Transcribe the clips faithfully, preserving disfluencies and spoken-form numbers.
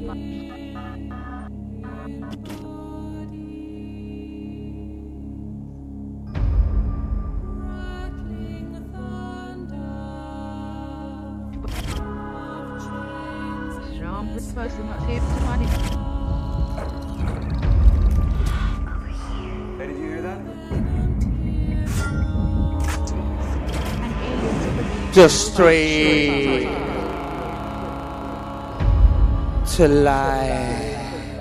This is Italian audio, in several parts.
Hey, did you hear that? Just straight to life.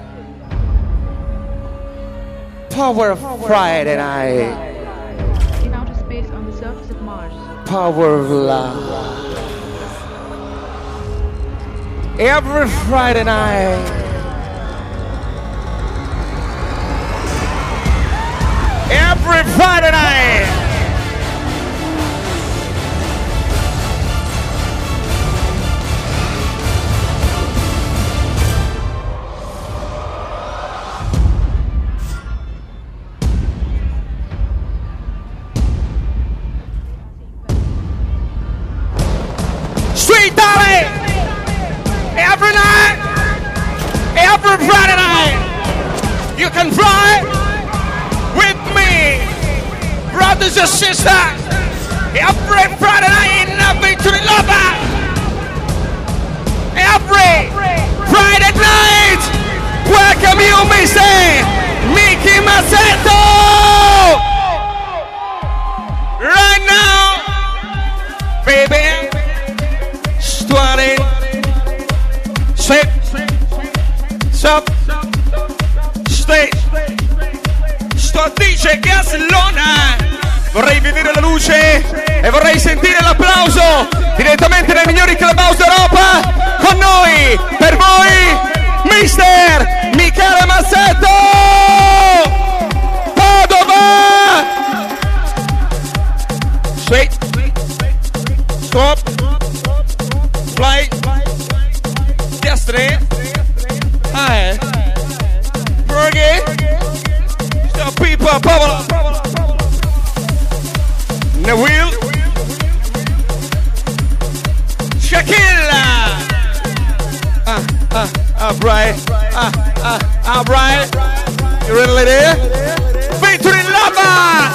Power of Friday night. In outer space on the surface of Mars. Power of love. Every Friday night. Every Friday night. Sweet Dolly! Every night! Every Friday night! You can fly with me! Brothers and sisters! Every Friday night in a Victory Lover! Every Friday night! Welcome you, Mister Mickey Mazzetto! Right now, baby! twenty, six, sub, stay. Sto dice Gaslona. Vorrei vedere la luce e vorrei sentire l'applauso direttamente dai migliori clubhouse d'Europa. Con noi, per voi, Mister Michele Mazzetto. Padova. Sweet. Stop. Fly, destiny, hi, Fergie, the people, bubble, Nawil, Shakila, ah, ah, ah, bright, ah, ah, ah, bright, you ready there? Victory Lover,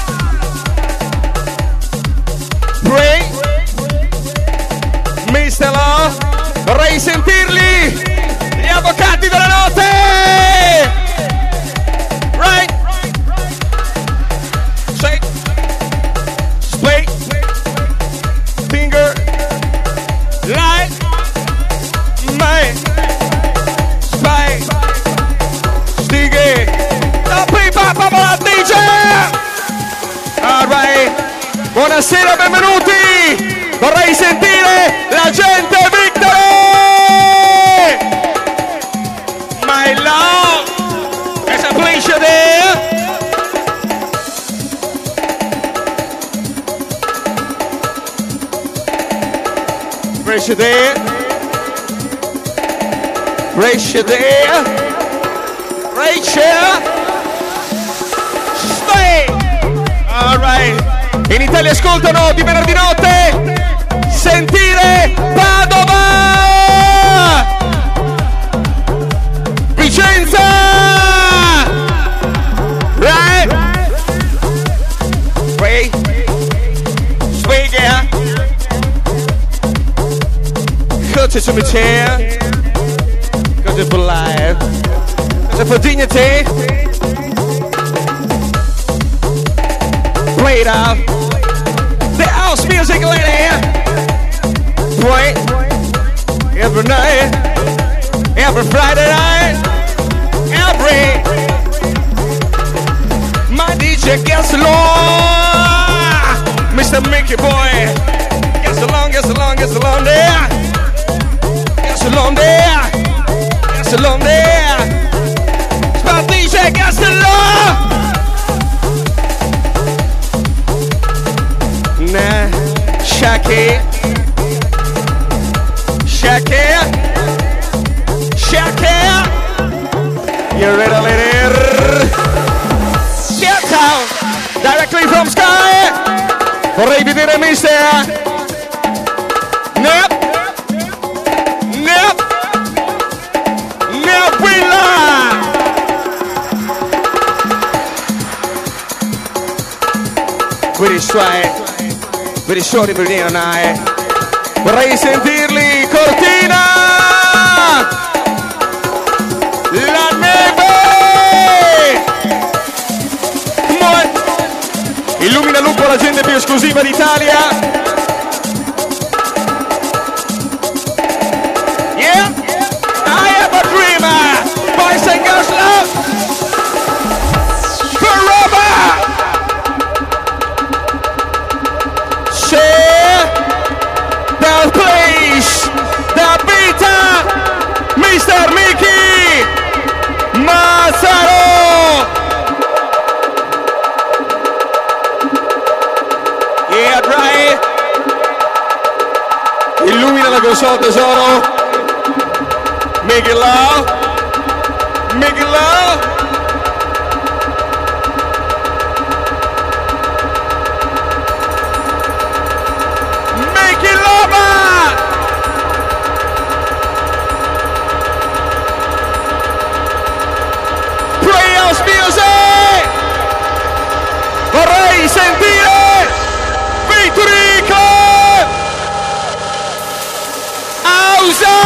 pray. Mister Love, vorrei sentirli, gli avvocati della notte! Right? Shake, split, finger, light, my, spy, stighe, la pipa, papà, D J! Alright, buonasera, benvenuti! Vorrei sentire la gente Victory! My love! There's a pleasure there! Pressure there! Pressure there! Pressure! Stay! Alright! In Italia ascoltano di venerdì notte! Sentire Padova, Vicenza, right? Wait, Sveglia, Cosa to me chair, Cosa for life, Cosa for dignity, played out, the house music lady. Point every night, every Friday night, every my D J gets along, Mister Mickey boy gets along, gets along, gets along there, gets along there, gets along there. My D J gets along. Nah, Shaki. Shakir, Shakir, you're ready, lady. Get out, directly from Sky. Vorrei vedere Mister Nep, Nep, right. Very shorty, very night. Vorrei sentirli, Cortina! La neve! Come on! Illumina Lupo, la gente più esclusiva d'Italia. Yeah! I am a dreamer! Boys and girls love! Forever! Share the place, the beta, mister Mickey Mazzaro. Yeah, right. Illumina la console, tesoro. Make it loud. Make it loud. Make it loud. Playhouse music. Vorrei sentire Vittorico Ausa.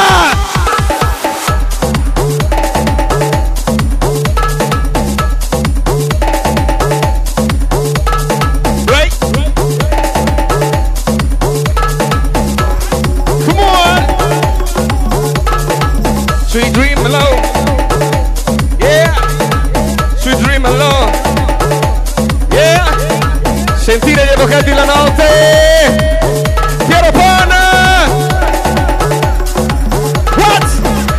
Sweet dream alone, yeah, sweet dream alone, yeah, sentire gli avvocati la notte, Piero Pan, what?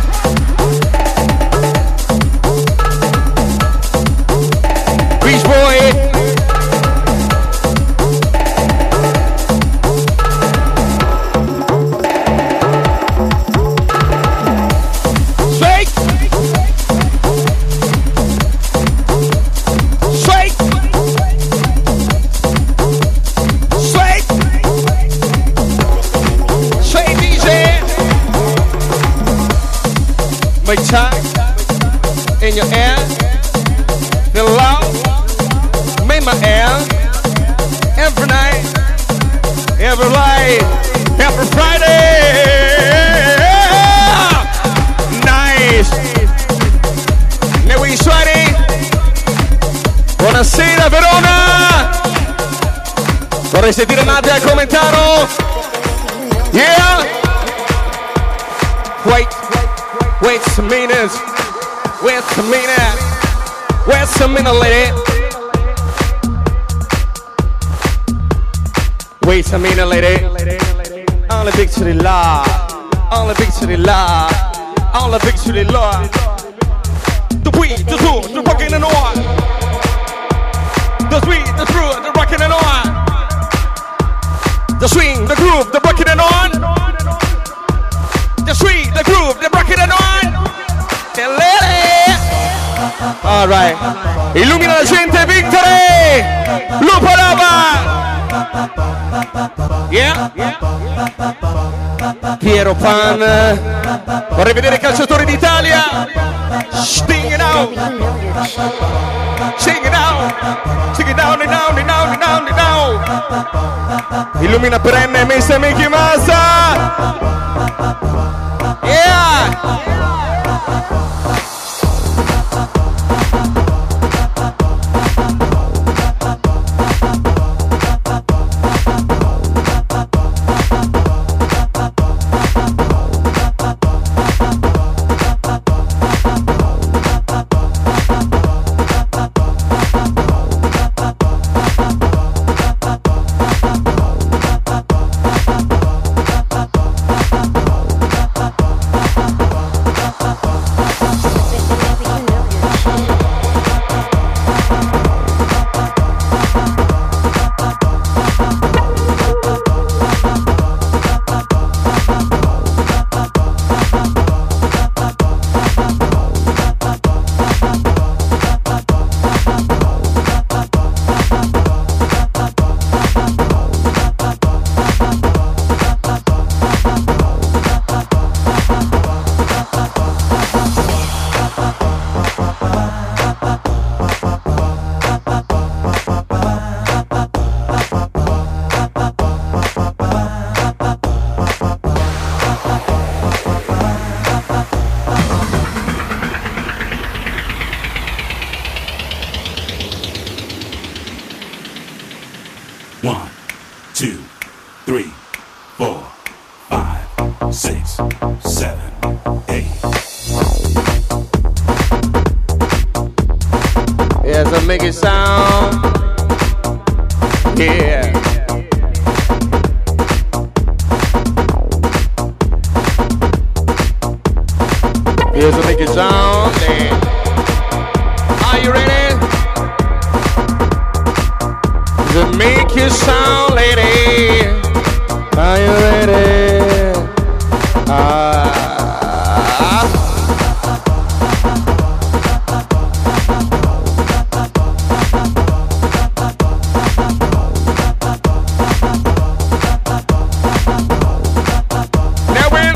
Beach Boy, my time in your air, the love, made my air, every night, every night, every Friday, nice, now we sweaty, buonasera Verona, vorrei sentire Nadia al commentaro, yeah, wait. Wait a minute, wait a minute, wait a minute, lady. Wait a minute, lady. Only victory law, only victory law, only victory law. The we, the two, the rockin' and on. The sweet, the true, the rockin' and on. The swing, the groove, the rockin' and on. The sweet, the groove, the rockin' and on. All right. Illumina la gente, Victory! Lupo Lava! Yeah? Piero Pan. Vorrei vedere i calciatori d'Italia. Sting it out. Sing it out. Sing it down and down and down and down and down. Illumina perenne mister Mickey Mazza. Yeah! six, seven, eight. Yes, I make it sound. Yeah. Yes, I make it sound. Yeah. Are you ready? To make you sound, lady. Are you ready? Ah. Now when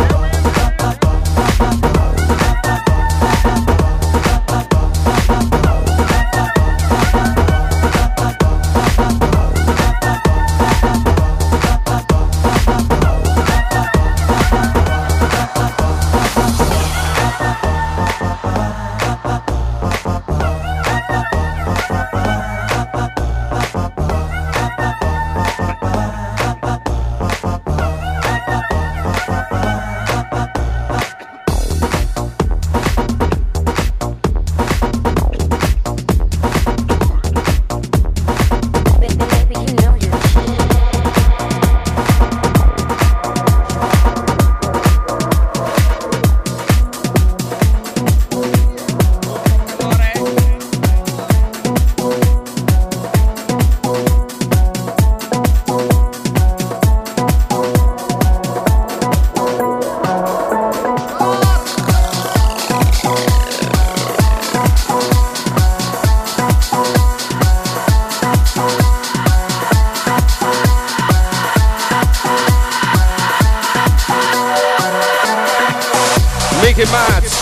Mickey Mouse.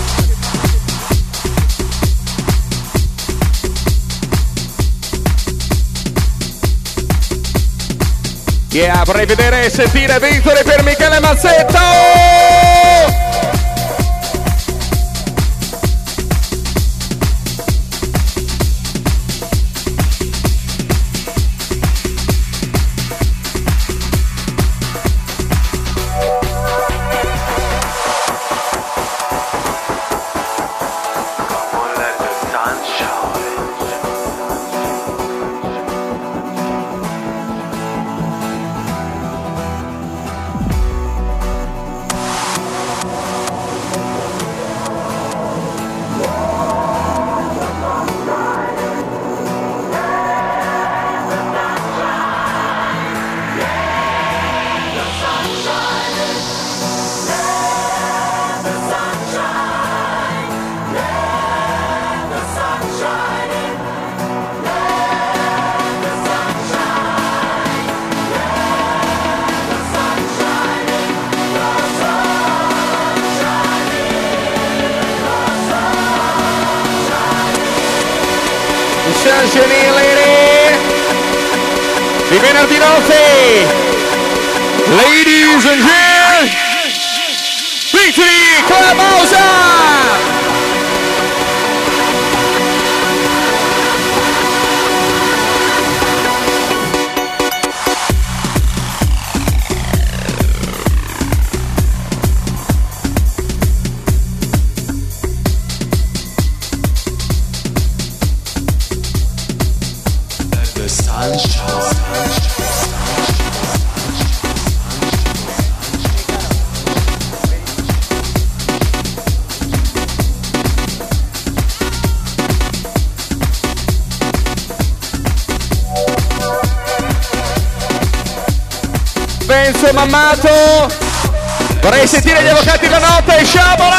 Yeah, vorrei vedere e sentire vittorie per Michele Mazzetto! Sunshine Lady di venerdì notte, ladies and gentlemen, Victory Clubhouse! Benzo Mammato, vorrei sentire gli avvocati della notte, sciabola!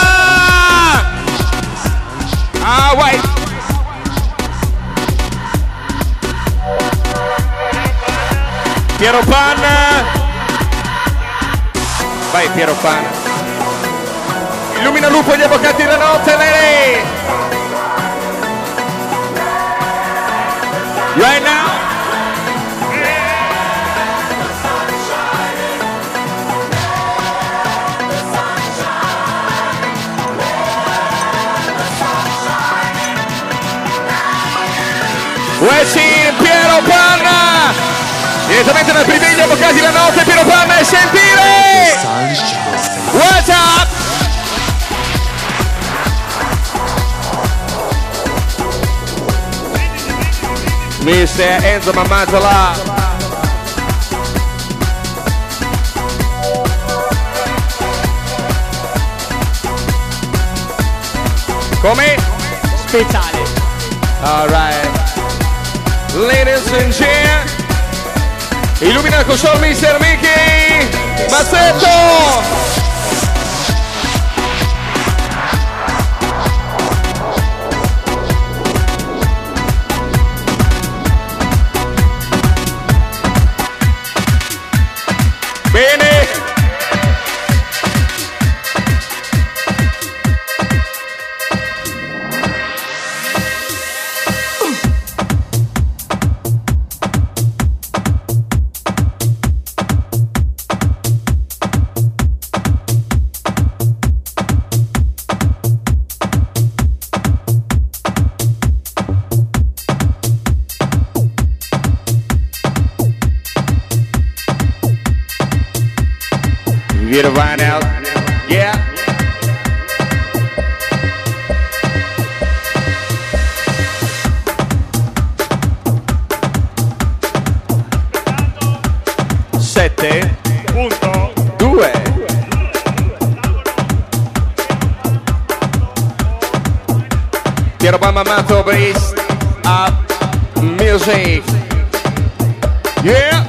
Ah, wait! Piero Pan, vai Piero Pan, illumina lupo gli avvocati della notte, lei! Right now! Wessi Piero Panna, direttamente dal Priviglia, avvocati la notte, Piero Panna e sentire! mister Enzo Mammatola. Come? Speciale. Alright. Ladies and gentlemen, illumina il console mister Mickey Mazzetto. Bene. Get a ride out. Yeah. Sette. Punto. Due. Piero Mammatola based up music. Yeah.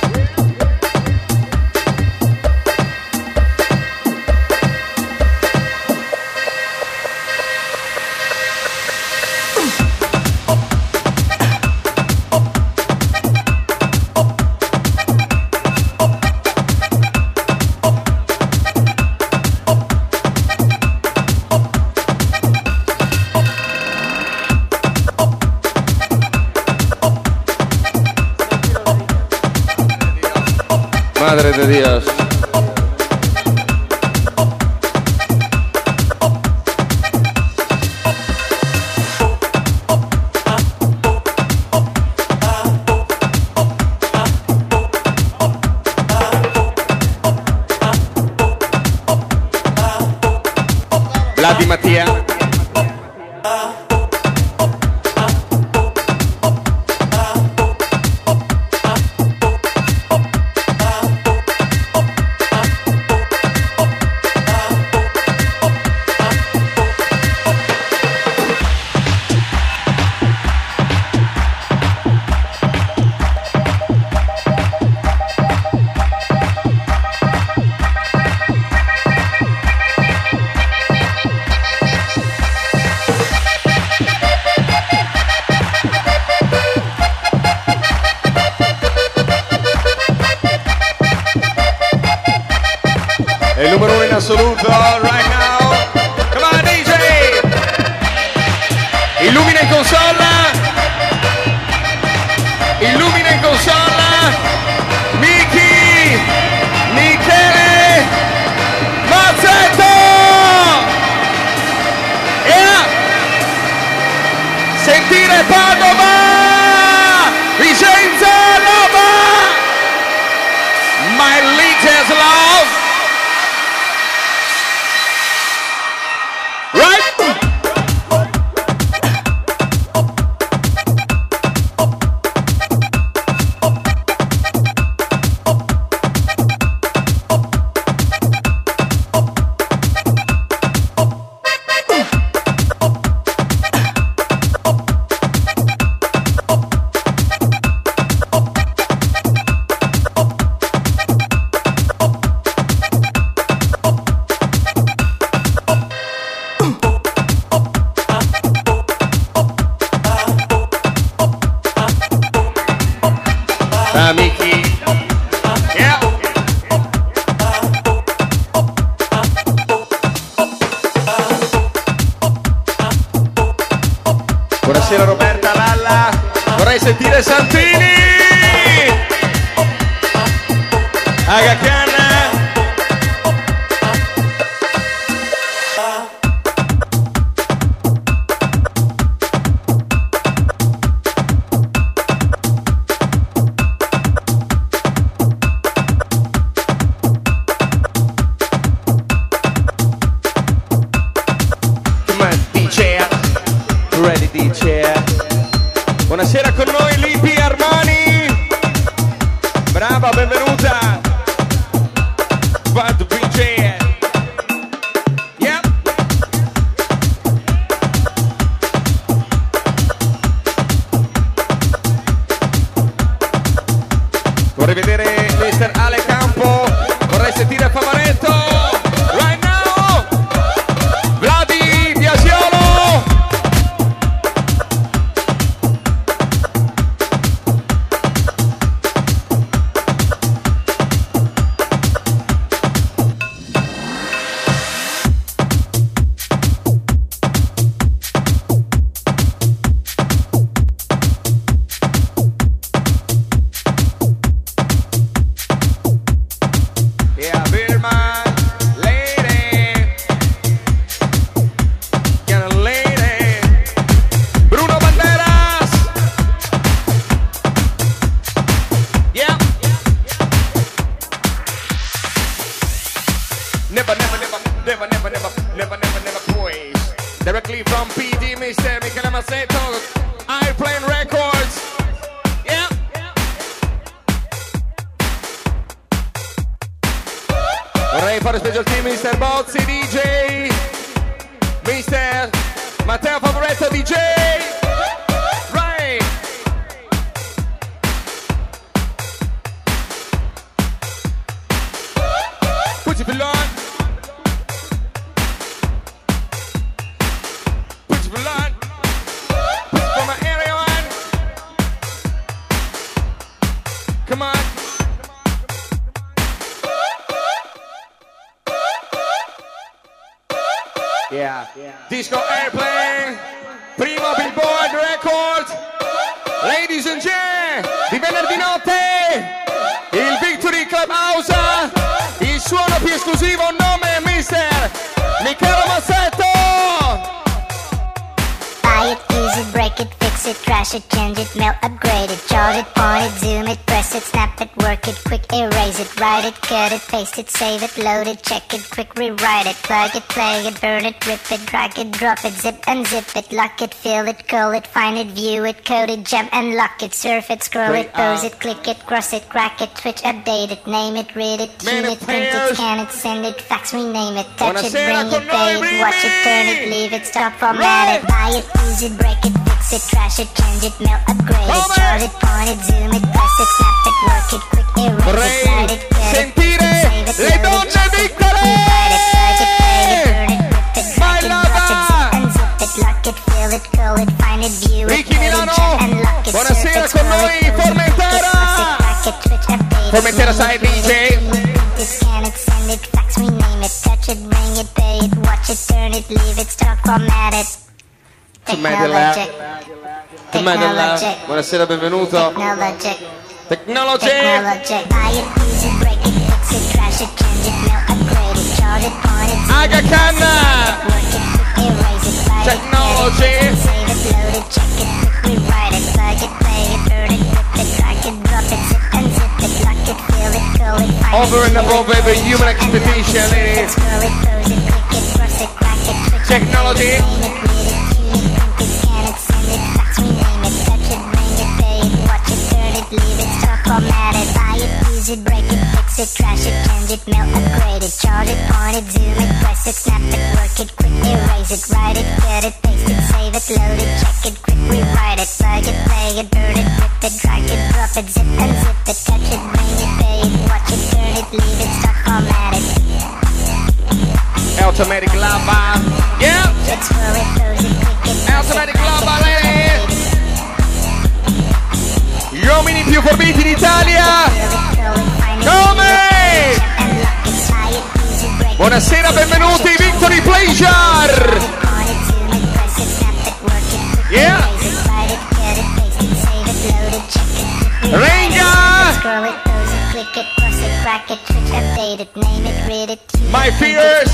Madre de Dios. Vladi Mattia. Il numero uno in assoluto right now. Come on D J. Illumina in console. Illumina in console. Miki. Michele. Mazzetto. Yeah. Sentire Padova. Vicenza Roma. My latest love. Amici. Yeah. Buonasera Roberta Lalla. Vorrei sentire Santini. Aga Khan. Buonasera con noi Lito. Never, never, never, never, never, never, never, never, never praise. Directly from P D, mister Michele Mazzetto, Airplane Records. Yeah. Vorrei fare special team mister Bozzi D J, mister Matteo Favoretto D J. Right. Put your below. Put your below. Put it for my area one. Come on. Yeah. Disco Airplane, primo Billboard Record. Ladies and gentlemen, di venerdì notte, il Victory Clubhouse, il suono più esclusivo, nome mister Michele Mazzetto. Buy it, use it, break it, fix it, crash it, change it, mail, upgrade it, charge it, point it, zoom it, press it, snap it, work it, quick erase it, write it, cut it, paste it, save it, load it, check it, quick rewrite it, plug it, play it, burn it, rip it, drag it, drop it, zip unzip it, lock it, fill it, call it, find it, view it, code it, jump and lock it, surf it, scroll it, pose it, click it, cross it, crack it, switch, update it, name it, read it, tune it, print it, scan it, send it, fax, rename it, touch it, bring it, pay it, watch it, turn it, leave it, stop, format it, buy it, use it, break it, fix it, trash it, change it, mail, upgrade it, charge it, point it, zoom it, press it, snap it, work it, quick erase it, write it, cut it, sentire save it, le load it, donne check it, quick rewrite it, plug it, play it, burn it, rip it, drag it, drop it, zip unzip it, lock it, fill it, call it, find it, view it, Ricky code it, Milano, jump and lock it, surf buonasera it, con scroll noi, it, pose it, Formentera. click it, cross it, crack it, switch, update it, Formentera side D J. Scan it, send it, fax, rename it, touch it, bring it, pay it, watch it, turn it, leave it, stop, format it. Technologic. Technologic. Buonasera, benvenuto. Technologic. Technology. Technologic. Buy it, use it, break it, fix it, trash it, change it, mail, upgrade it, charge it, point it, zoom Aga it, Khan. work it, quick erase it, write Technology. it, edit it, save it, load it, check it, quick rewrite it, plug it, play it, burn it, rip it, drag it, drop it, zip unzip it, lock it, fill it, call it, find Over it, and view above it, every code it, human jump and lock it, expectation, surf it, ladies. scroll it, pose it, click it, cross it, crack it, switch, Technology. name it, read it, tune it, print it, scan it, send it, fax, rename it, touch it, bring it, pay it, watch it, turn it, leave it, stop, format it, buy it, use it, break it, fix it, trash it, change it, mail, upgrade it, charge it, point it, zoom it, press it, snap it, work it, quick erase it, write it, cut it, paste it, save it, load it, check it, quick rewrite it, plug it, play it, burn it, rip it, drag it, drop it, zip unzip it, touch it, bring it, pay it, watch it, turn it, leave it, stop, format it. Automatic lava. Yeah. Let's roll it, pose it, click it, Automatic lava, ladies. Gli uomini più forbiti d'Italia. Come? Buonasera, benvenuti, Victory Pleasure. Yeah. Renga. My fears.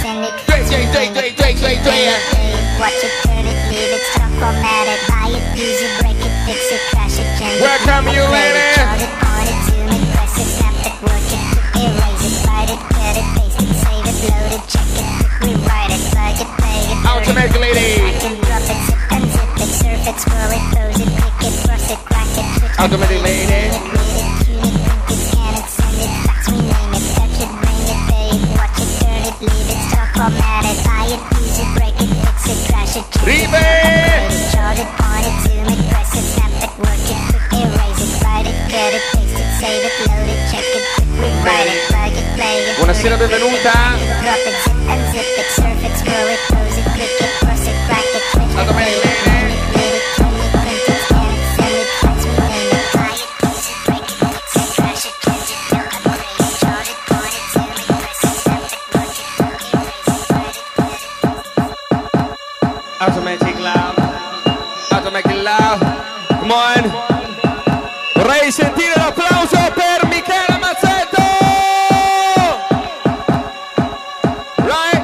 Watch it, turn it, leave it, stop, format it, buy it, use it, break it, fix it, crash it, change it. Welcome you, lady. Charge it, point it, zoom it, press it, snap it, work it, quick erase it, write it, cut it, paste it, save it, load it, check it, quick rewrite it, plug it, play it, burn Automatic it, lady. drag it, drop it, zip unzip it, surf it, scroll it, pose it, click it, cross it, crack it, switch it, Automatic lady. read it, tune it, print it, scan it, send it, fax, rename it, touch it, bring it, pay it, watch it, turn it, leave it, stop, format it, buy it, use it, break it, fix it, crash it, change it, Ribe. charge it, point it, zoom it, press it, snap it, work it, quick erase it, write it, cut it, paste it, save it, load it, check it, quick rewrite it, plug it, play it. Buonasera, benvenuta. Drop it, zip unzip it, surf it, scroll it, pose it, click it, cross it, crack it, switch it, Automatic read it, lady. read it, tune it, print it, scan it, send it, fax, rename it, buy it, use it, break it, fix it, crash it, change it, mail, upgrade it, charge it, point it, zoom it, press it, snap it, work it, quick erase it, write it, cut it. Automatic love. Automatic love. Come on. Vorrei sentire l'applauso per Michele Mazzetto. Right?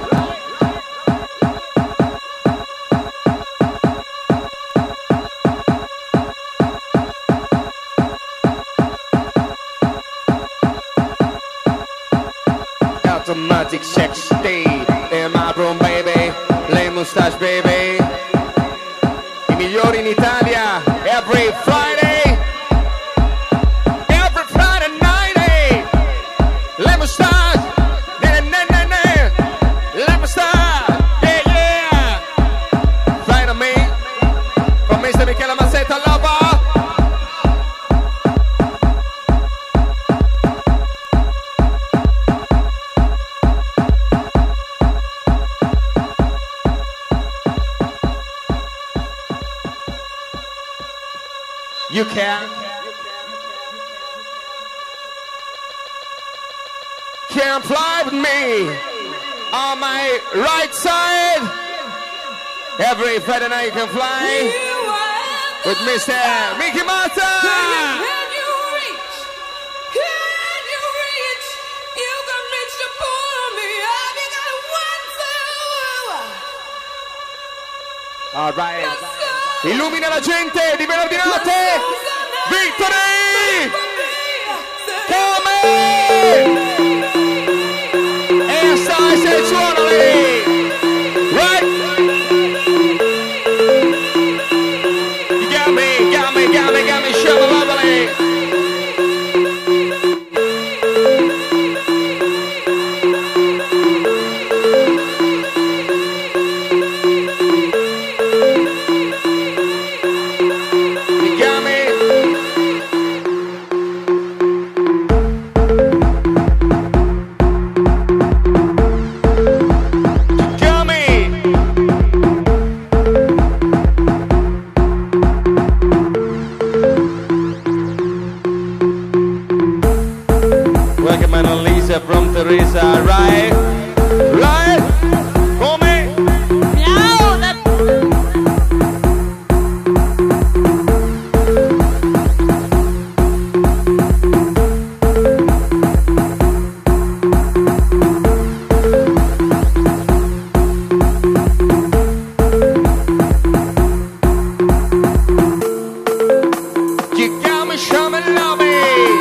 Automatic. magic sex day. In my room baby, le mustache baby. I migliori in Italia, every Friday. Every Friday night, eh. Le mustache, ne ne ne ne. Le mustache, yeah yeah. Fly to me, from mister Michele Mazzetta Lover. You can. Can fly with me on my right side. Every Friday night you can fly with Mister Mickey Mazza. All right. Illumina la gente di venerdì notte. Victory! Come? E stai sensuale! Right? You got me, got me, got me, got me, shabba-labba-lee. From Teresa, right? Right? Come? Miau, that... You got me, show me, love me.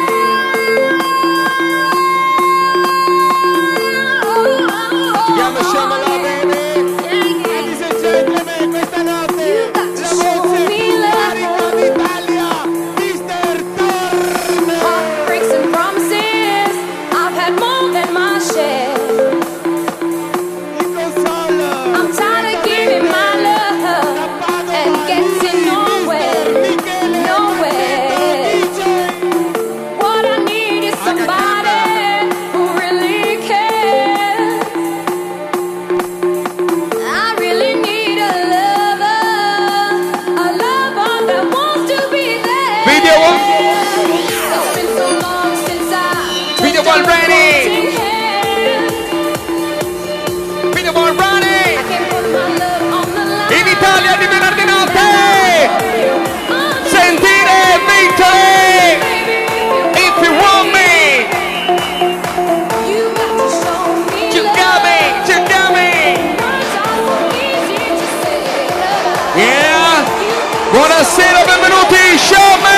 Buonasera, benvenuti, show me!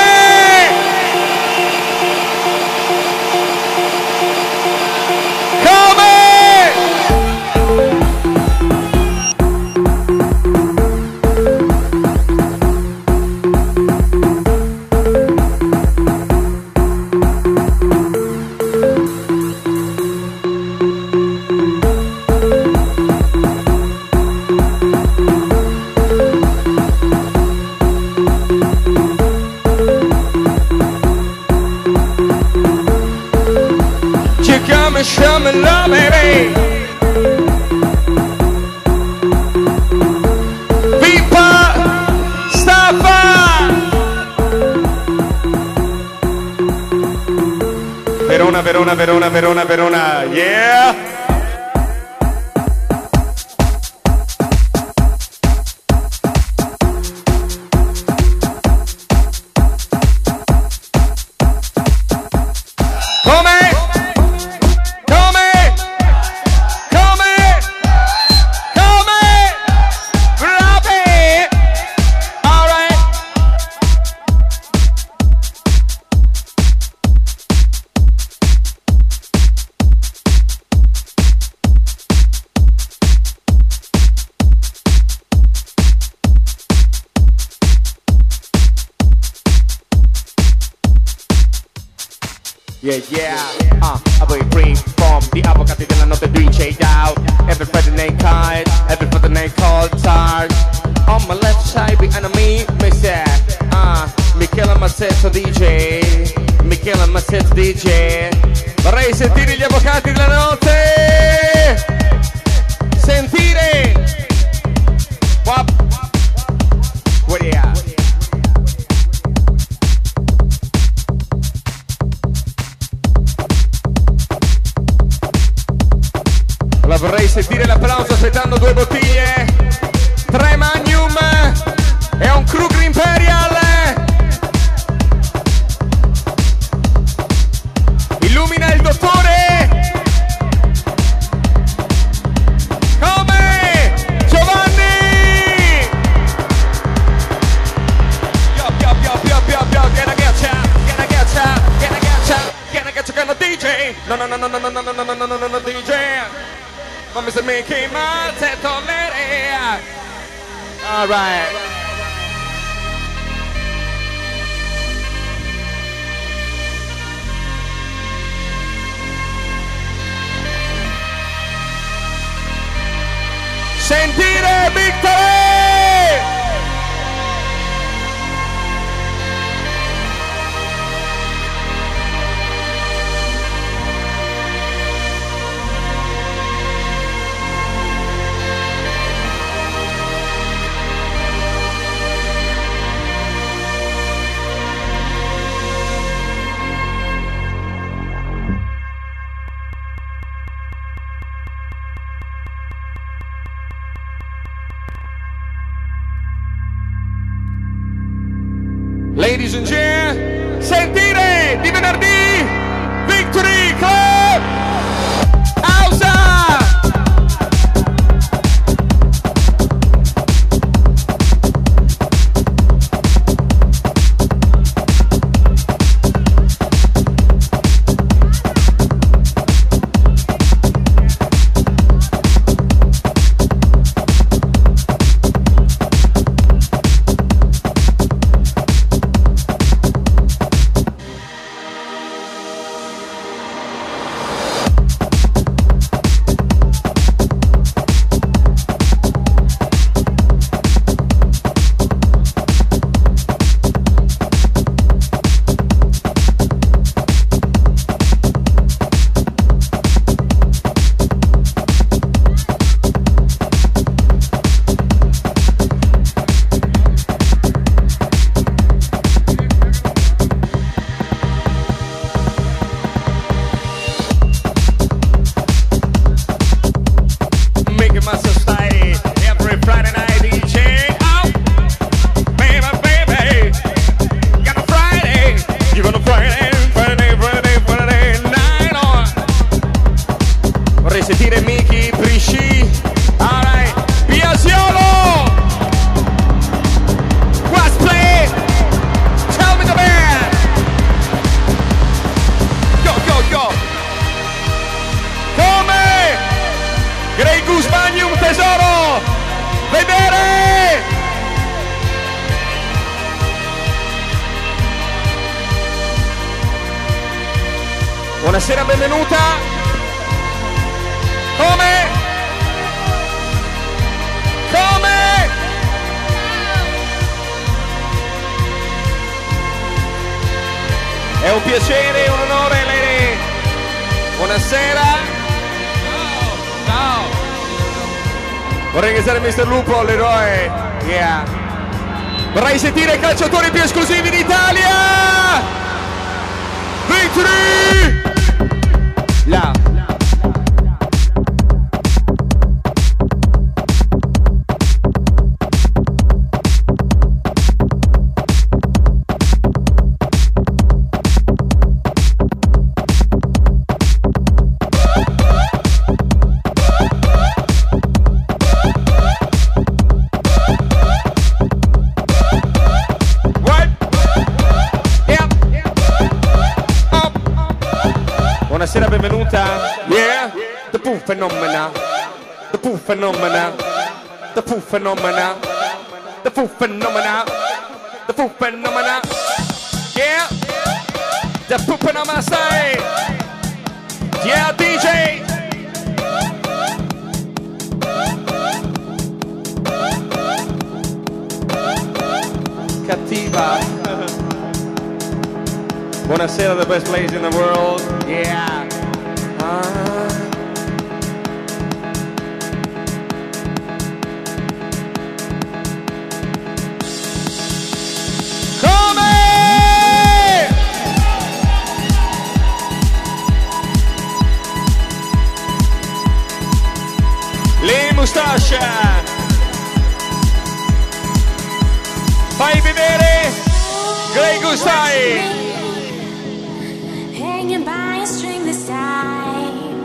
Come? Show me love, baby. Vipa Staffa. Verona, Verona, Verona, Verona, Verona. Yeah. Yeah, yeah, uh, I will bring from the avvocati della notte D J Dow. Every Friday night card, every Friday night call charge. On my left side behind me, me say, uh, Michele Mazzetto D J, Michele Mazzetto D J. Vorrei sentire gli avvocati della notte. Sentire. Wap. What yeah. La vorrei sentire l'applauso aspettando due bottiglie, tre Magnum e un Kruger Imperial. Illumina il dottore. Come Giovanni. Pio pio pio pio pio pio. Get a getcha, get a getcha, get a getcha, get a getcha con la D J. No no no no no no no no no no no no no D J. Ma mister Mickey Mazzetto l'area. All right. Sentire Victory! Ladies and gentlemen, sentire di venerdì Victory Club Ausa. Buonasera, benvenuta. Come? Come? È un piacere, un onore, lei. Buonasera. Ciao. Ciao. Vorrei ringraziare mister Lupo, l'eroe. Yeah. Vorrei sentire i calciatori più esclusivi d'Italia. Victory! Là. Buonasera, benvenuta. Yeah, the Pooh Phenomena, the Pooh Phenomena, the Pooh Phenomena, the Pooh Phenomena, the Pooh Phenomena. Yeah, The pooping on my side. Yeah, D J. Cattiva. Buonasera, the best place in the world. Yeah. Ah. Mustascia, fai vedere Grey Goose Eye. Hanging by a string this time,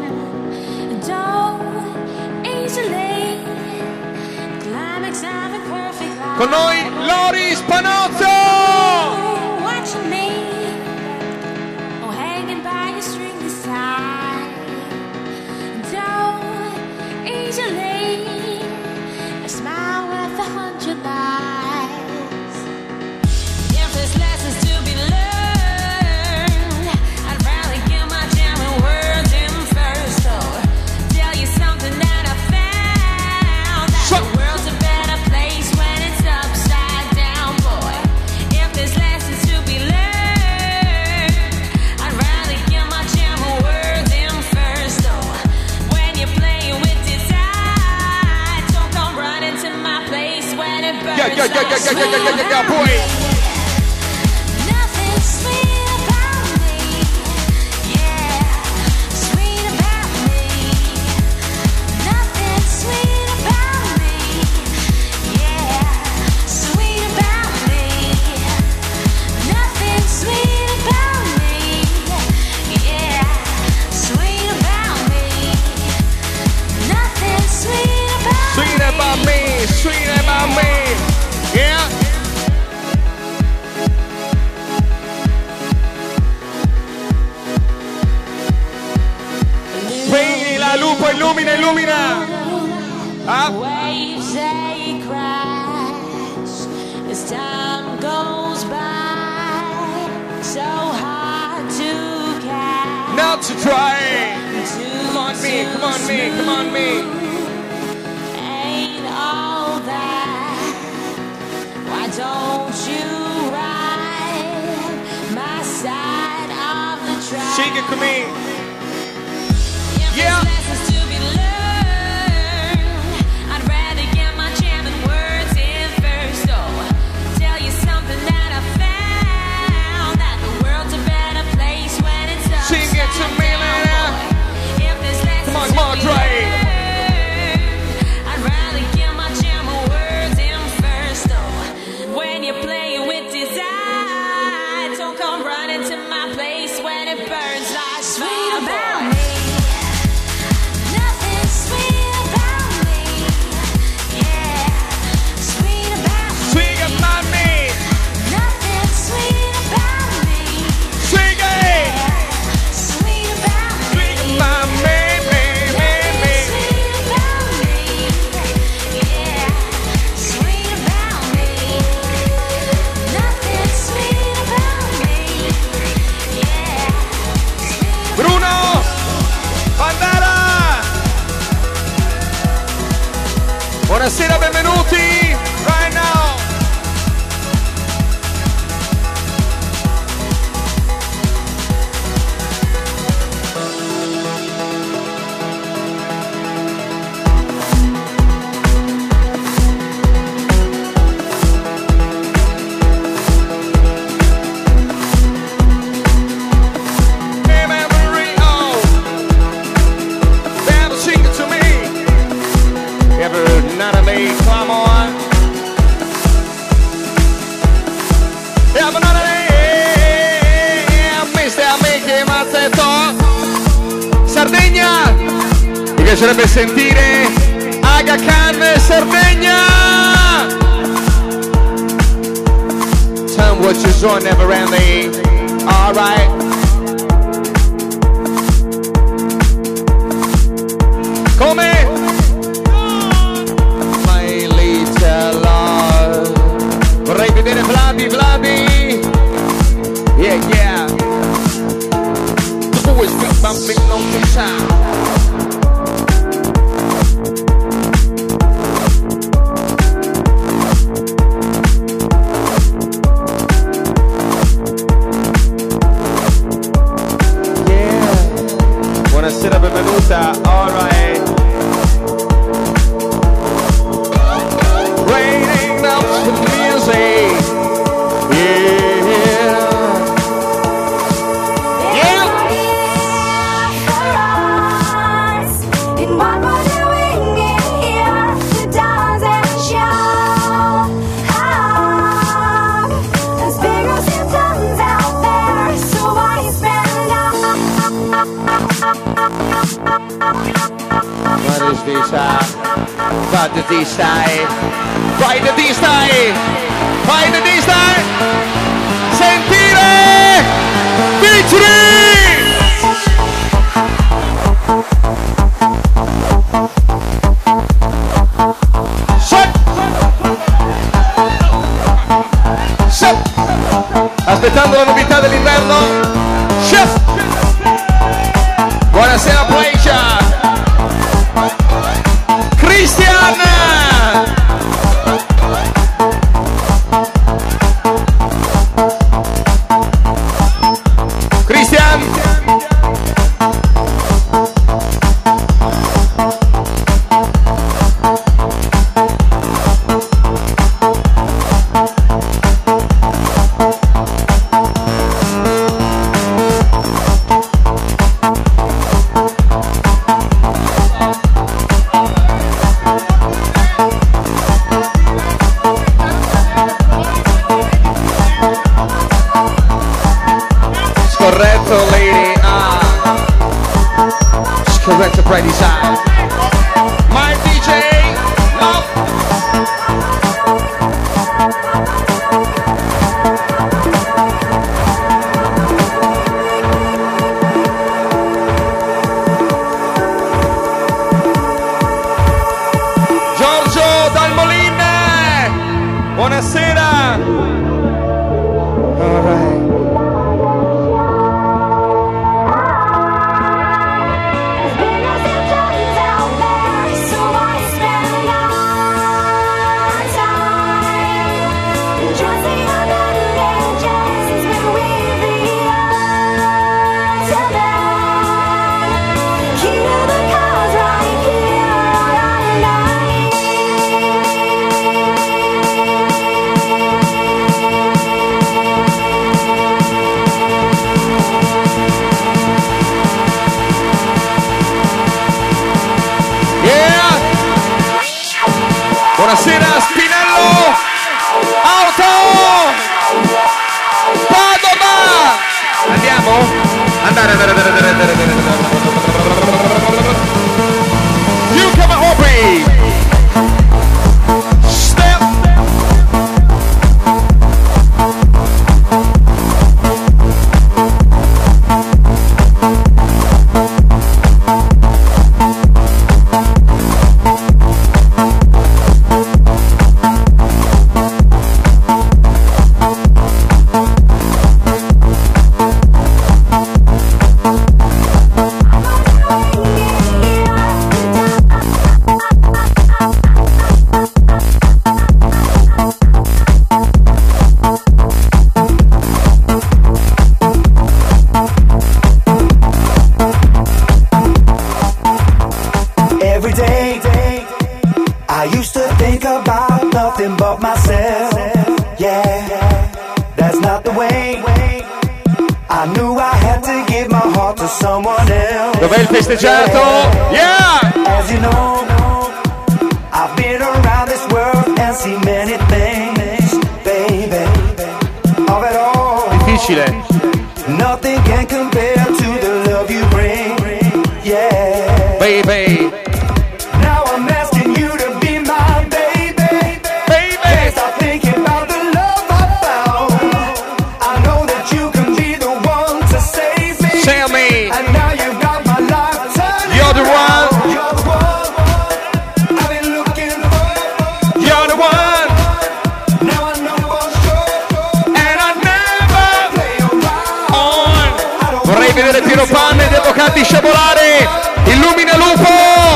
don't easily climax of a perfect life. Con noi Lori Spanozzo. Oh, watching me, oh, hanging by a string this time, don't easily. Smile worth a hundred lives. If there's lessons to be learned, I'd rather get my jamming words in first. So tell you something that I found, that so- the world's a better place when it's upside down, boy. If there's lessons to be learned, I'd rather get my jamming words in first. So when you're playing with desire, don't come running to my place when it burns. Yeah, yeah, yeah, yeah, yeah, yeah, yeah, yeah, yeah, boy. Nothing sweet about me, yeah, sweet about me. Nothing sweet about me, yeah, sweet about me. Nothing sweet about me, yeah, sweet about me. Nothing sweet about me. Sweet about me, sweet about me. Yeah. Prendi la lupo, illumina, illumina. Ah. Waves they crash as time goes by. So hard to catch. Now to try. Come on me, come on me, come on me. Ain't all that. Why don't you ride my side of the track? Shake it to me. If Yeah. there's lessons to be learned, I'd rather get my jamming words in first. So tell you something that I found, that the world's a better place when it's upside Sing it to me, down, Lena. boy. If there's lessons Come on, come on, to be Dre. learned, I'd rather get my jamming words in first. So when you're playing with desire, don't come running to my place when it burns like sweet about me. Nothing sweet about me, yeah, sweet about me. Sweet about me. Nothing sweet about me, Sing it. sweet about me. Sweet about me, me, me, me. Sweet about me, yeah, sweet about me. Nothing sweet about me, yeah, sweet. Bruno Pandara. Buonasera, benvenuti. Right now. Memory, oh. Better sing it to me. Ever none of me, come on. Ever none of me, mister Mickey Mazzetto. Sardegna, mi piacerebbe sentire Aga Khan Sardegna. Tell 'em what you saw, never ending. Alright. Come? My little love. Vorrei vedere Vladi, Vladi. Yeah, yeah. Cause this I Vai da di stai Vai da di stai Vai da di stai Sentire Victory Shut Shut Aspettando la novità dell'inverno Chef Buonasera Pleasure Christian Christian Correct upright design. My D J, no. Giorgio dal Moline, buonasera. All right. Buonasera Spinello Auto Padova. Andiamo? Andare andare andare andare andare andare You come on Aubrey Step Dov'è il festeggiato? Yeah! As you know, I've been around this world and seen many things, baby. Of it all. Difficile. Nothing can compare to the love you bring. Yeah. Baby. Now I'm asking you to be my baby. Baby. Can't stop thinking about the love I found. I know that you can be the one to save me. Tell me. And now you've got my life turning. You're the one. You're the one I've been looking for. You're the one. Now I know for sure. And I never Play around. on. Vorrei vedere Piero Panne ed Avvocati sciabolare. Illumina Lupo.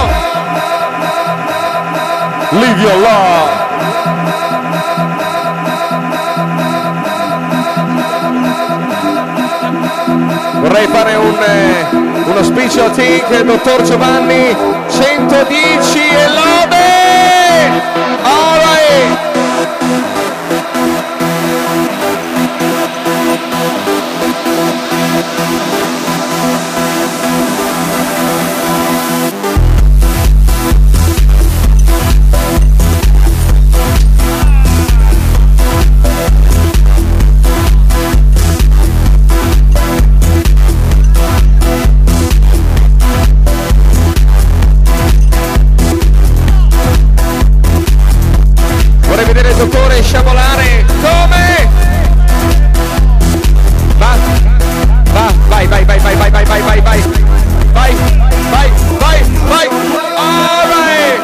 Live your love. Vorrei fare un, eh, uno special think, dottor Giovanni, centodieci e lode! All right. dottore sciabolare. Come? Va, va, vai, vai, vai, vai, vai, vai, vai, vai, vai, vai, vai, vai, vai, all right.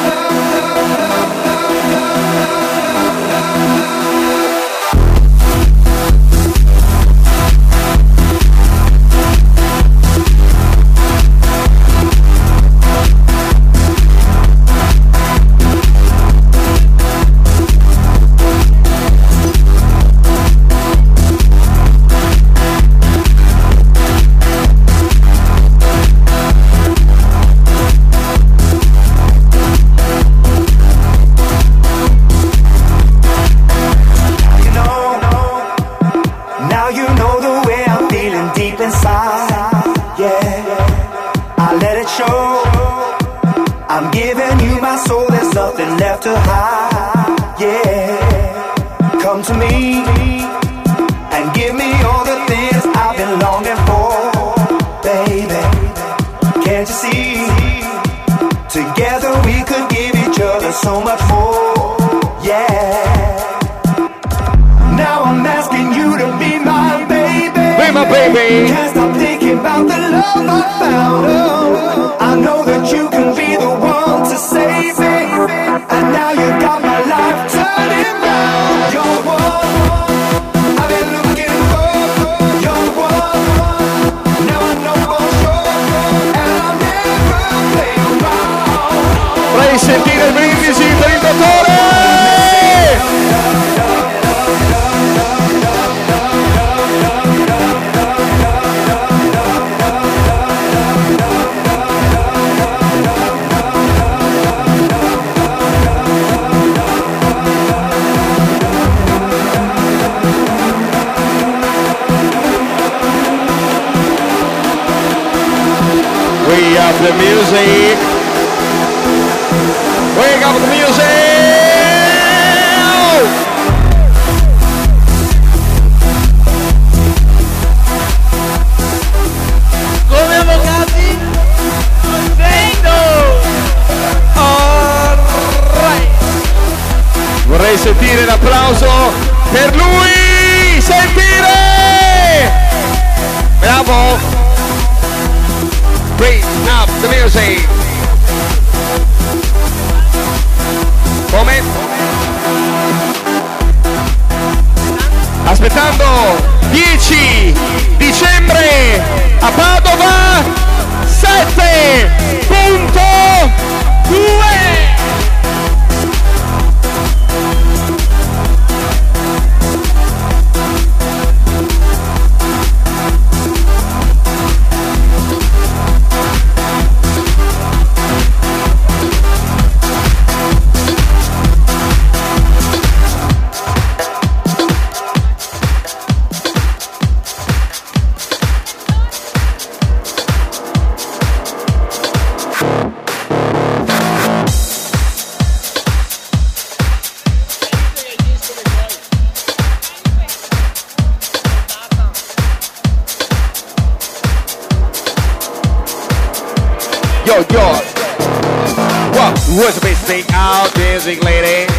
So much more, yeah. Now I'm asking you to be my baby. Be my baby. Can't stop thinking about the love I found. Oh, I know that you can be the one to save me. And now you got my life turning round. You're one I've been looking for. You're one now I know for sure. And I'll never play around. Vorrei sentire il brindisi per il dottore! We have the music. Wake up the music! Come avvocati? Contento! Alright! Vorrei sentire l'applauso per lui! Sentire! Bravo! Bring up the music! Come? Aspettando dieci dicembre a Padova sette punto due. Yo, yo. What? What's the best thing out, dancing lady?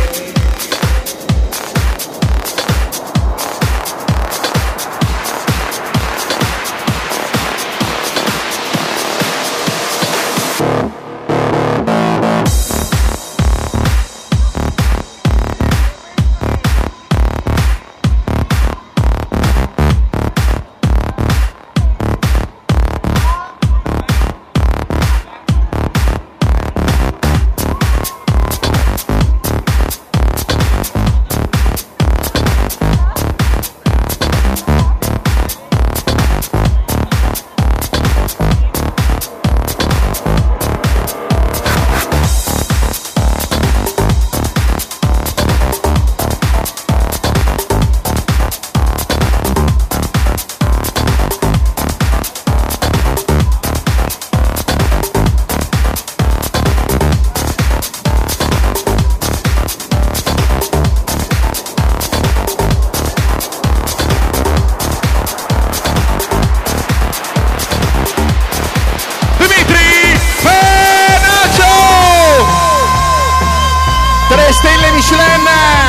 Due stelle Michelin.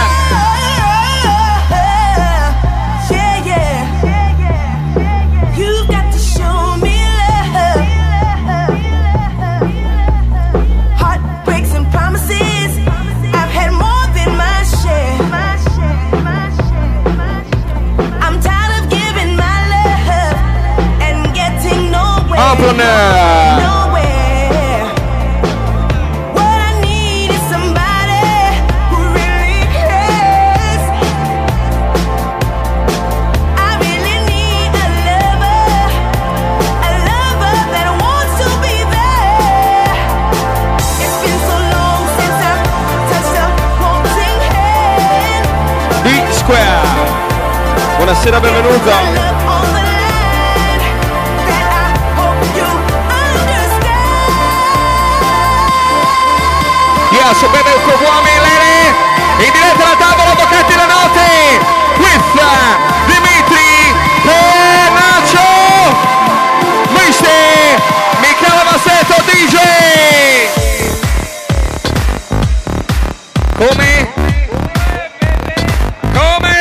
Yeah, yeah. You've got to show me love. Heartbreaks and promises. I've had more than my share. I'm tired of giving my love and getting nowhere. Open. Nowhere. What I need is somebody who really cares. I really need a lover, a lover that wants to be there. It's been so long since I've touched a wanting hand. D Square. Buonasera, benvenuto. Love on the line that I hope you understand. Yeah, so bene il uomini e lei. In diretta alla tavola, avvocati la notte. With Dimitri Penaccio. mister Michele Massetto D J. Come? Come?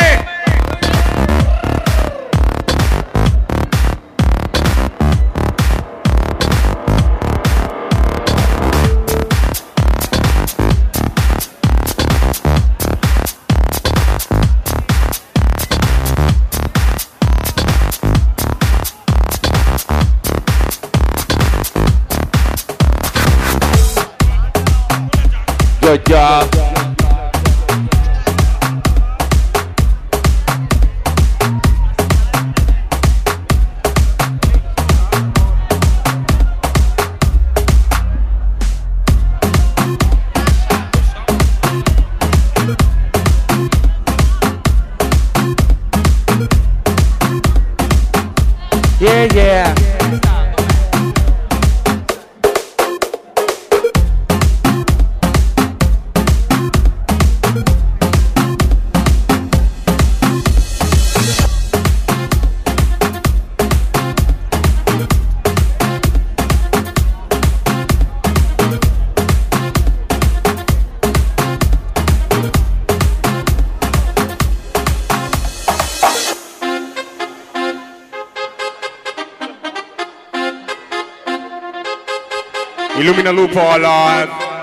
Good job. Yeah, yeah. Illumina Lupo alla...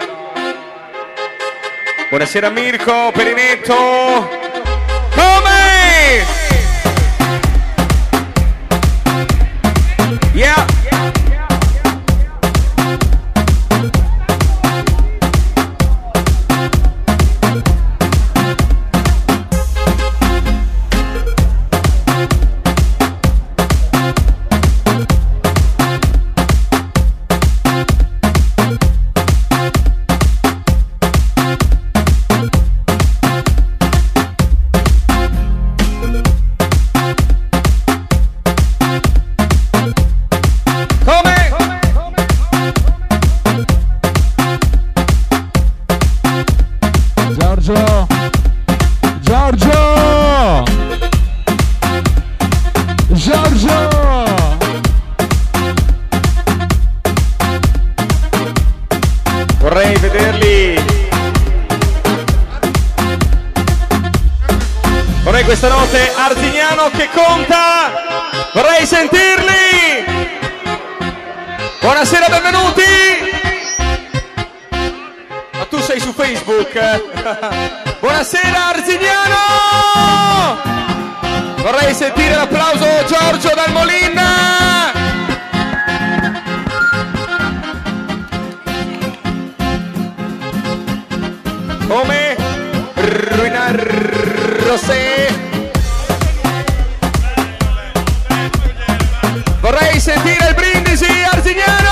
Buonasera Mirko, Perinetto. Come? Yeah. Giorgio! Giorgio! Giorgio! Vorrei vederli. Vorrei questa notte Arzignano che conta. Vorrei sentirli. Buonasera, benvenuti. Ma tu sei su Facebook? Buonasera Arzignano. Vorrei sentire l'applauso Giorgio dal Molina. Come? Ruinar Rosé. Vorrei sentire il brindisi Arzignano.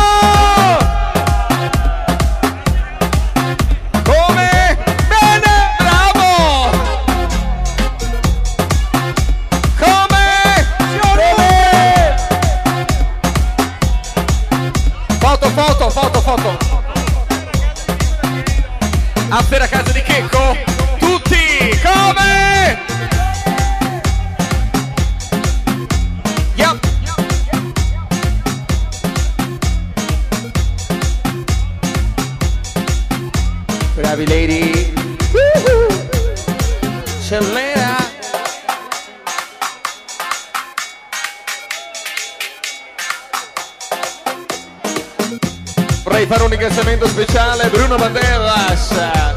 Come? Bene, bravo. Come? Come? Foto, foto, foto, foto. After a casa di Checco, tutti, come? Yep. Bravi lady. Woohoo. Cellera. Vorrei fare un ringraziamento speciale a Bruno Banderas.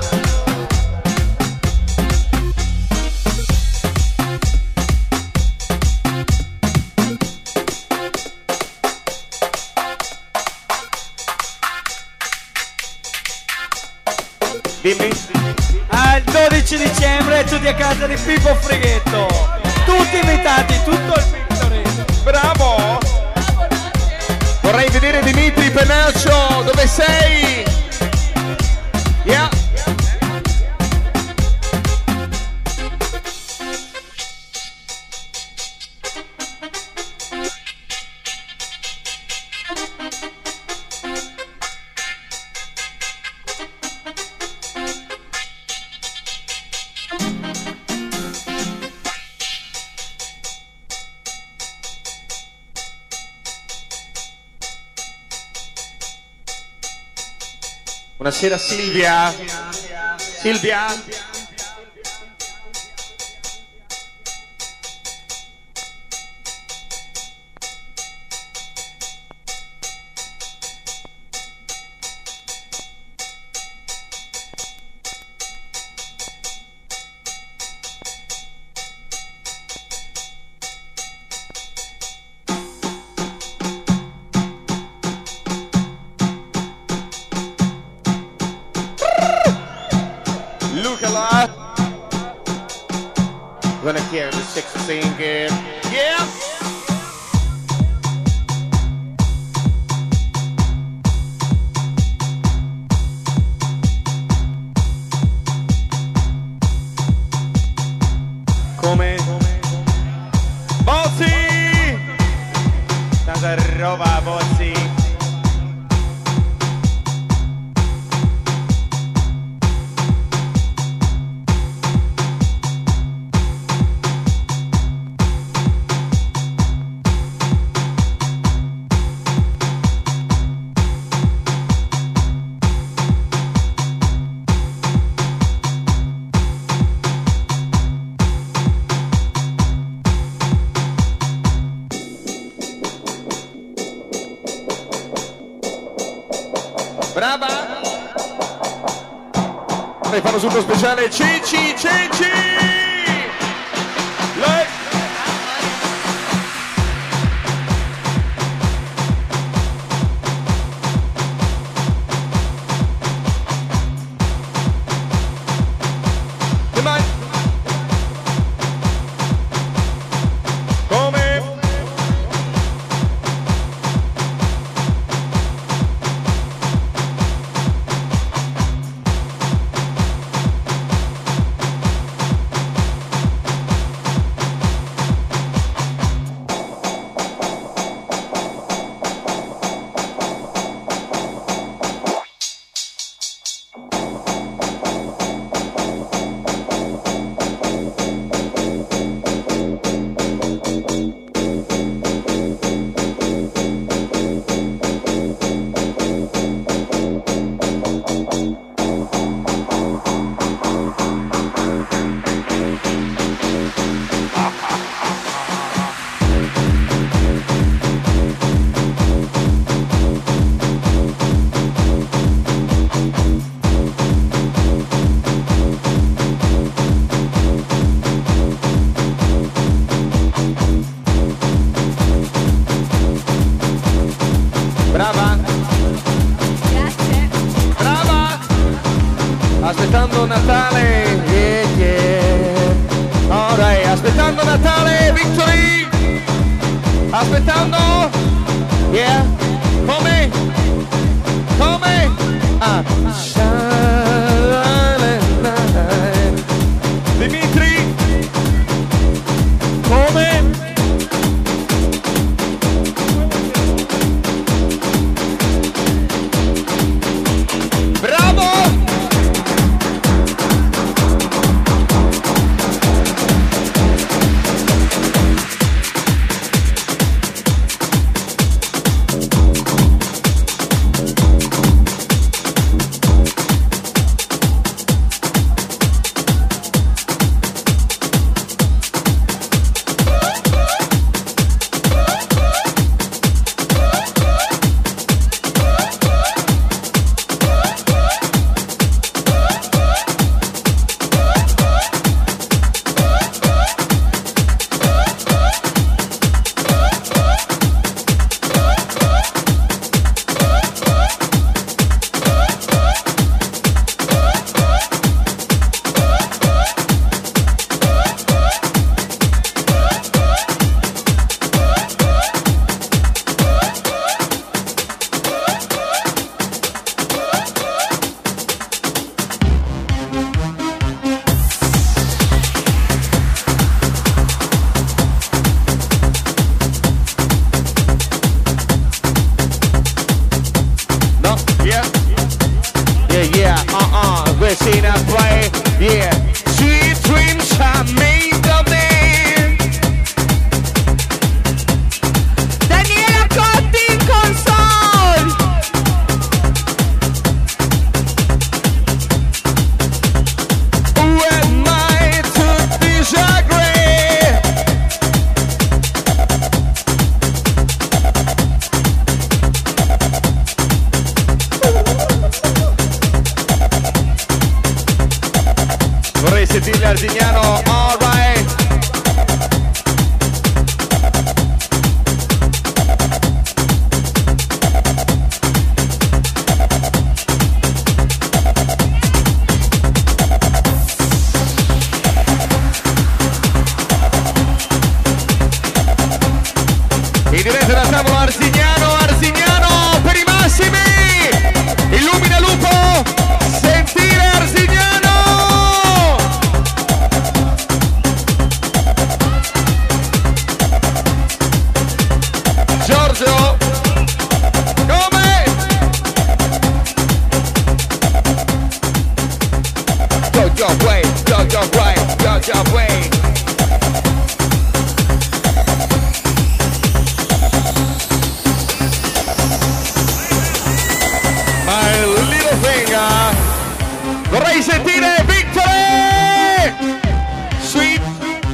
Dimmi. Ah, il dodici dicembre tutti a casa di Pippo Frighetto. Tutti invitati, tutto il Victory. Bravo. Vorrei vedere Dimitri Penaccio, dove sei? Yeah. Buonasera Silvia. Silvia. Gonna hear the six singing. Yeah. Come? Bozzi! Tanta roba, Bozzi. Brava! Vorrei fare un super speciale. Cici, Cici! Lei! E mai? Come? Brava! Grazie. Brava! Aspettando Natale, yeah, yeah. Alright, aspettando Natale, Victory! Aspettando, yeah. Come? Come? Ah. Dimitri! Come? Bravo! uh-uh, we're seeing us play, yeah. Sweet dreams are made of it. Daniela Cotti in console. Who am I to disagree? Vorrei sentire Arzignano, alright. In diretta da tavolo Arzignano, Arzignano per i massimi. Illumina lupo, sentire Arzignano. Giorgio, come? Go your way, go your way, go your way. My little finger. Vorrei sentire Victory! Sweet.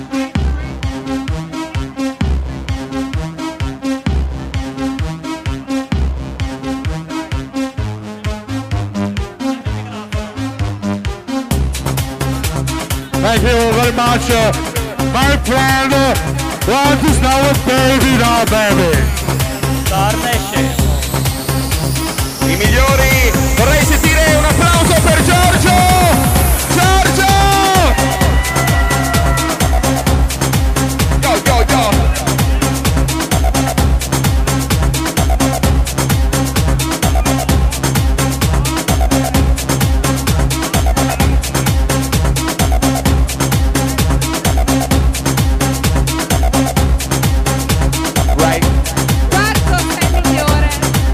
Thank you very much, uh, my friend. What is now a baby now, baby? Torna e scemo. I migliori, vorrei sentire un applauso per Giorgio! Giorgio! Go, go, go! Right. Quarto sei migliore.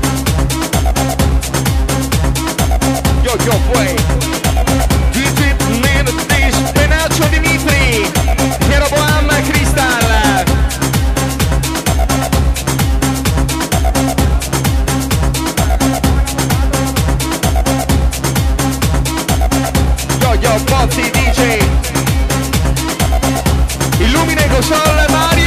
Yo, yo, way. Digit Mentis, Penaccio Dimitri, Piero Boam, Cristal. Yo, yo, Pozzi, D J. Illumina il console, Mario.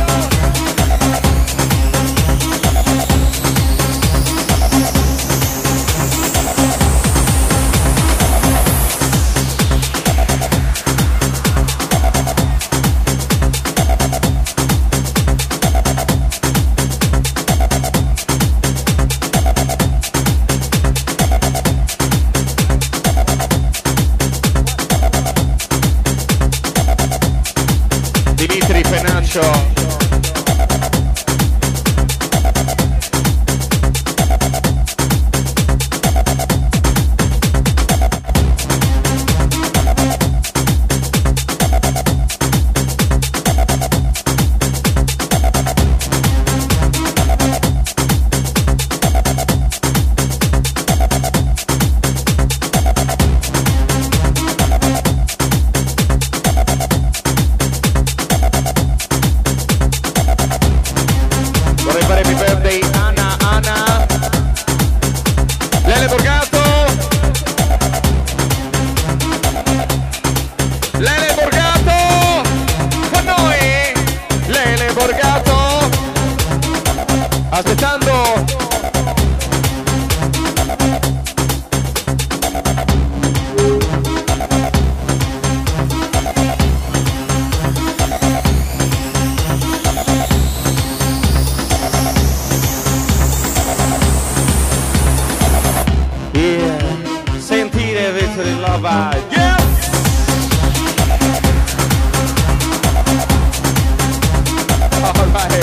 Dimitri Penaccio. Vorrei fare happy birthday Anna, Anna. Lele Borgato. Lele Borgato. Con noi. Lele Borgato. Aspettando. Yeah. Sentire Victory Love. Yeah. All right.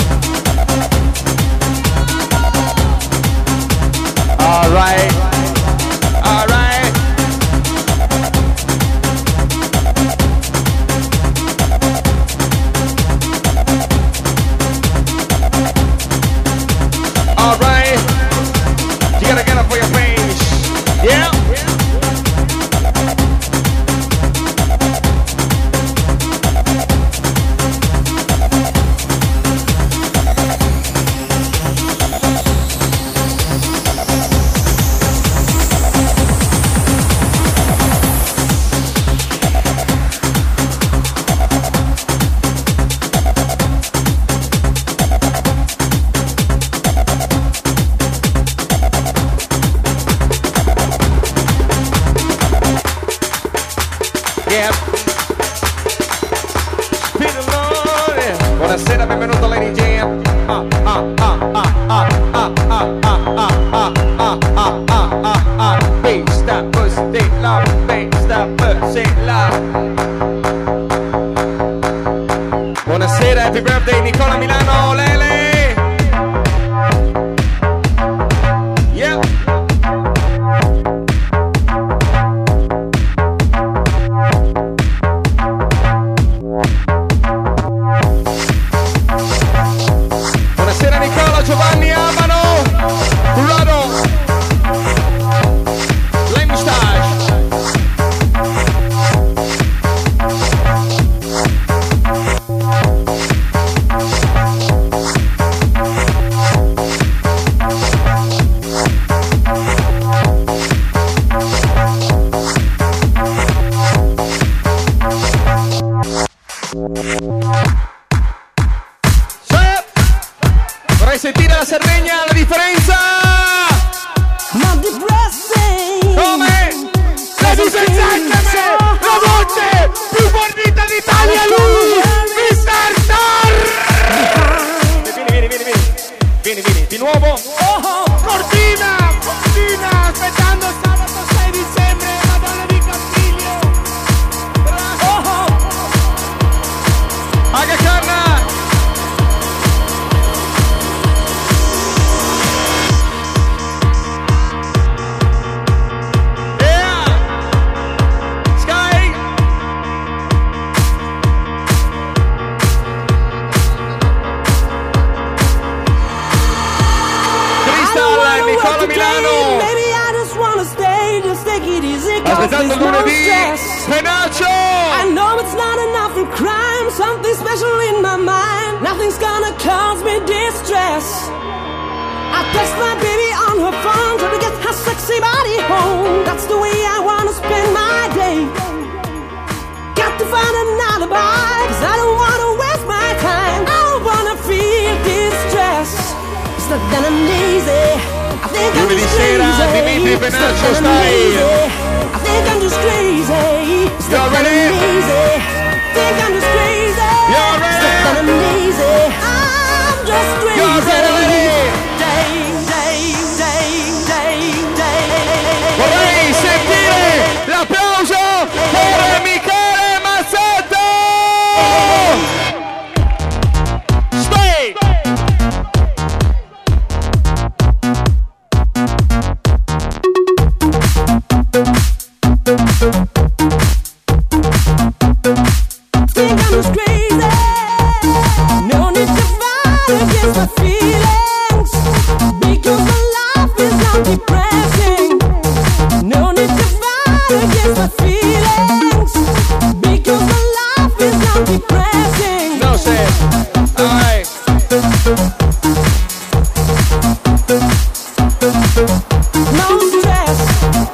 All right. All right. All right. You gotta get up for your face. Yeah. Yeah. Spin along, yeah. Buonasera, benvenuto Lady Jam. Ah, ah, ah, ah, ah, ah, ah, ah, ah, ah, ah, ah, ah, ah. Bass that pussy love, bass that pussy love. Buonasera, happy birthday Nicola Milano, Lele. Yeah. Buonasera Nicola, Giovanni Amano, Rado, Lemstage. Vorrei sentire la Sardegna, la differenza! Come? Ladies and gentlemen, la voce più fornita d'Italia, lui, mister Tar! Vieni, vieni, vieni, vieni, vieni, vieni, di nuovo! Oh, Cortina, Cortina, aspettando sabato sei dicembre, Madonna di Campiglio! Oh, Aga Khan! Nicola Milano. Aspettando lunedì, Penaccio. I know it's not enough for crime, something special in my mind. Nothing's gonna cause me distress. I text my baby on her phone, trying to get her sexy body home. That's the way I wanna spend my day. Got to find an alibi, cause I don't wanna waste my time. I don't wanna feel distress. It's not that I'm lazy. Lunedì sera, Dimitri Penaccio style. I think I'm just crazy. You're ready? Think I'm just crazy. You're ready? That I'm lazy. I'm just crazy. You're ready? Day, day, day, day, day. Vorrei sentire l'applauso per Michele Mazzetto. Stay. Think I'm just crazy. No need to fight against my feelings, because my life is not depressing. No need to fight against my feelings, because my life is not depressing. No sense. All right. No stress.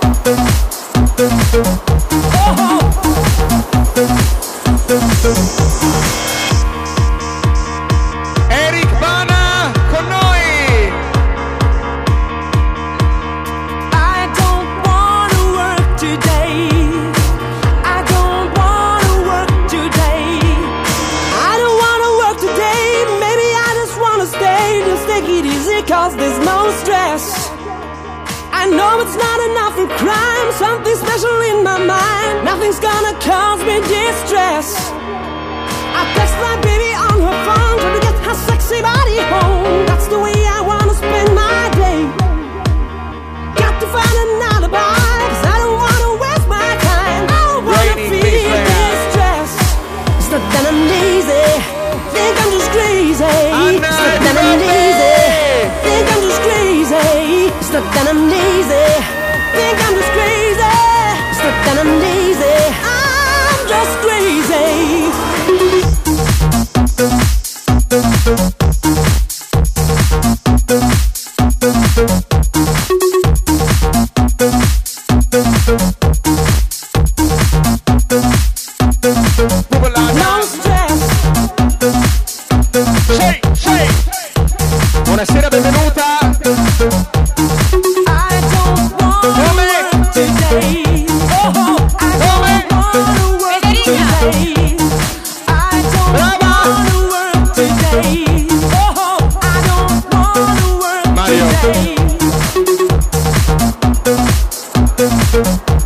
Oh. Eric Bana con noi. I don't wanna work today. I don't wanna work today. I don't wanna work today. Maybe I just wanna stay. Just take it easy, cause there's no stress. I know it's not enough for crime, something special in my mind. Nothing's gonna cause me distress. I text my baby on her phone, trying to get her sexy body home. That's the way I wanna spend my day. Got to find an alibi, cause I don't wanna waste my time. I don't wanna Raining feel Baseland. distress. It's not that I'm lazy, think I'm just crazy. It's not that I'm lazy, think I'm just crazy. It's not that I'm lazy, think I'm just crazy.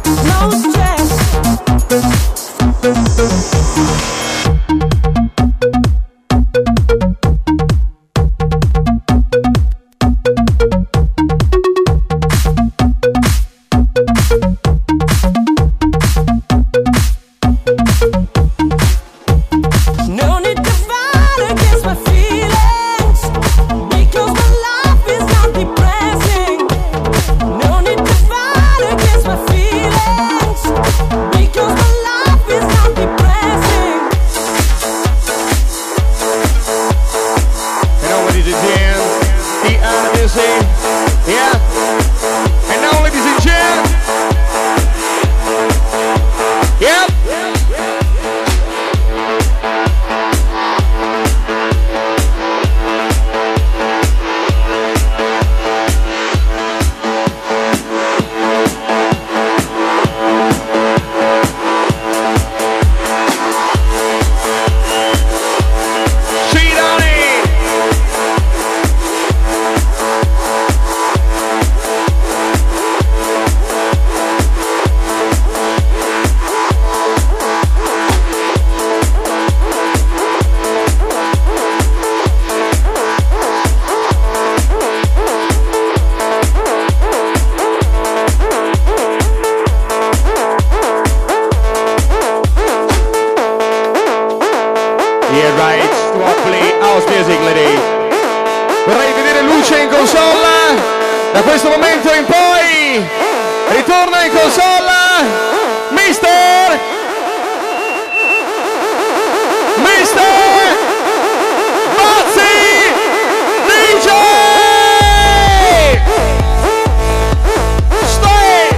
no stress. No need to fight against my feelings, because my life is not depressing. No need to fight against my feelings, because my life is not depressing. And now, ladies and gentlemen, the Odyssey, yeah. And now, ladies and gentlemen, yep. Yeah, right, Swaply, house music, ladies. Vorrei vedere luce in console. Da questo momento in poi ritorna in console Mister Mister Bazzi D J. Stay.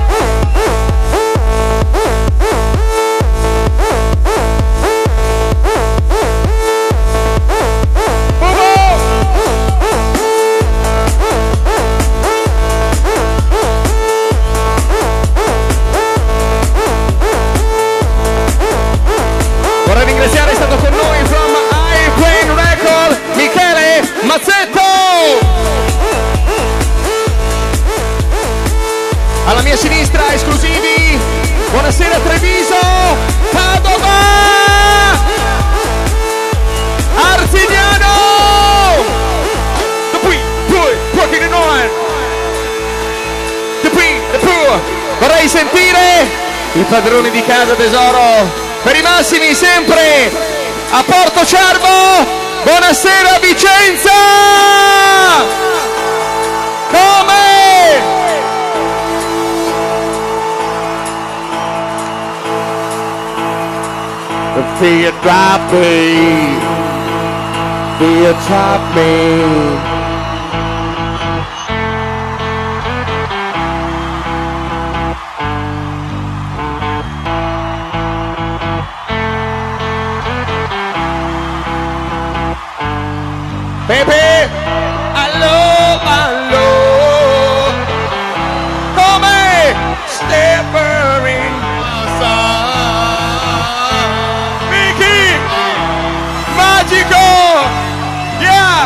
Vorrei ringraziare, è stato con noi from Airplane Record Michele Mazzetto. Alla mia sinistra esclusivi, buonasera Treviso, Padova, Arzignano. The Pui, Pui, working it on. The Pui, the Pui. Vorrei sentire il padrone di casa tesoro. Per i massimi sempre a Porto Cervo, buonasera Vicenza! Come? The fear drop me, fear drop me. Pepe, allo, allo, come Steppering, Mickey, magico, yeah.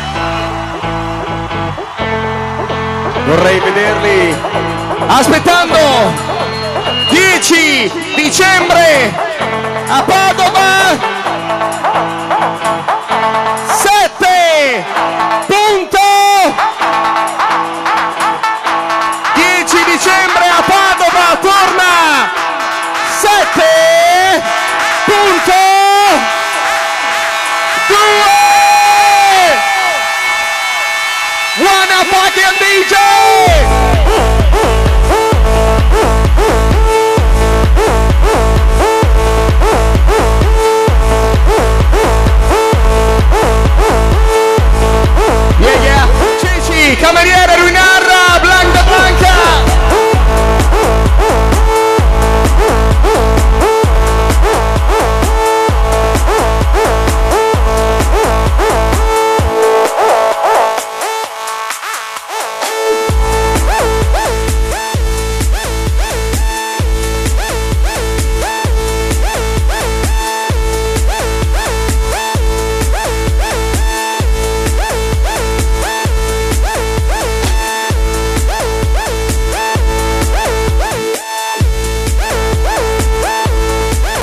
Vorrei vederli aspettando dieci dicembre a Padova.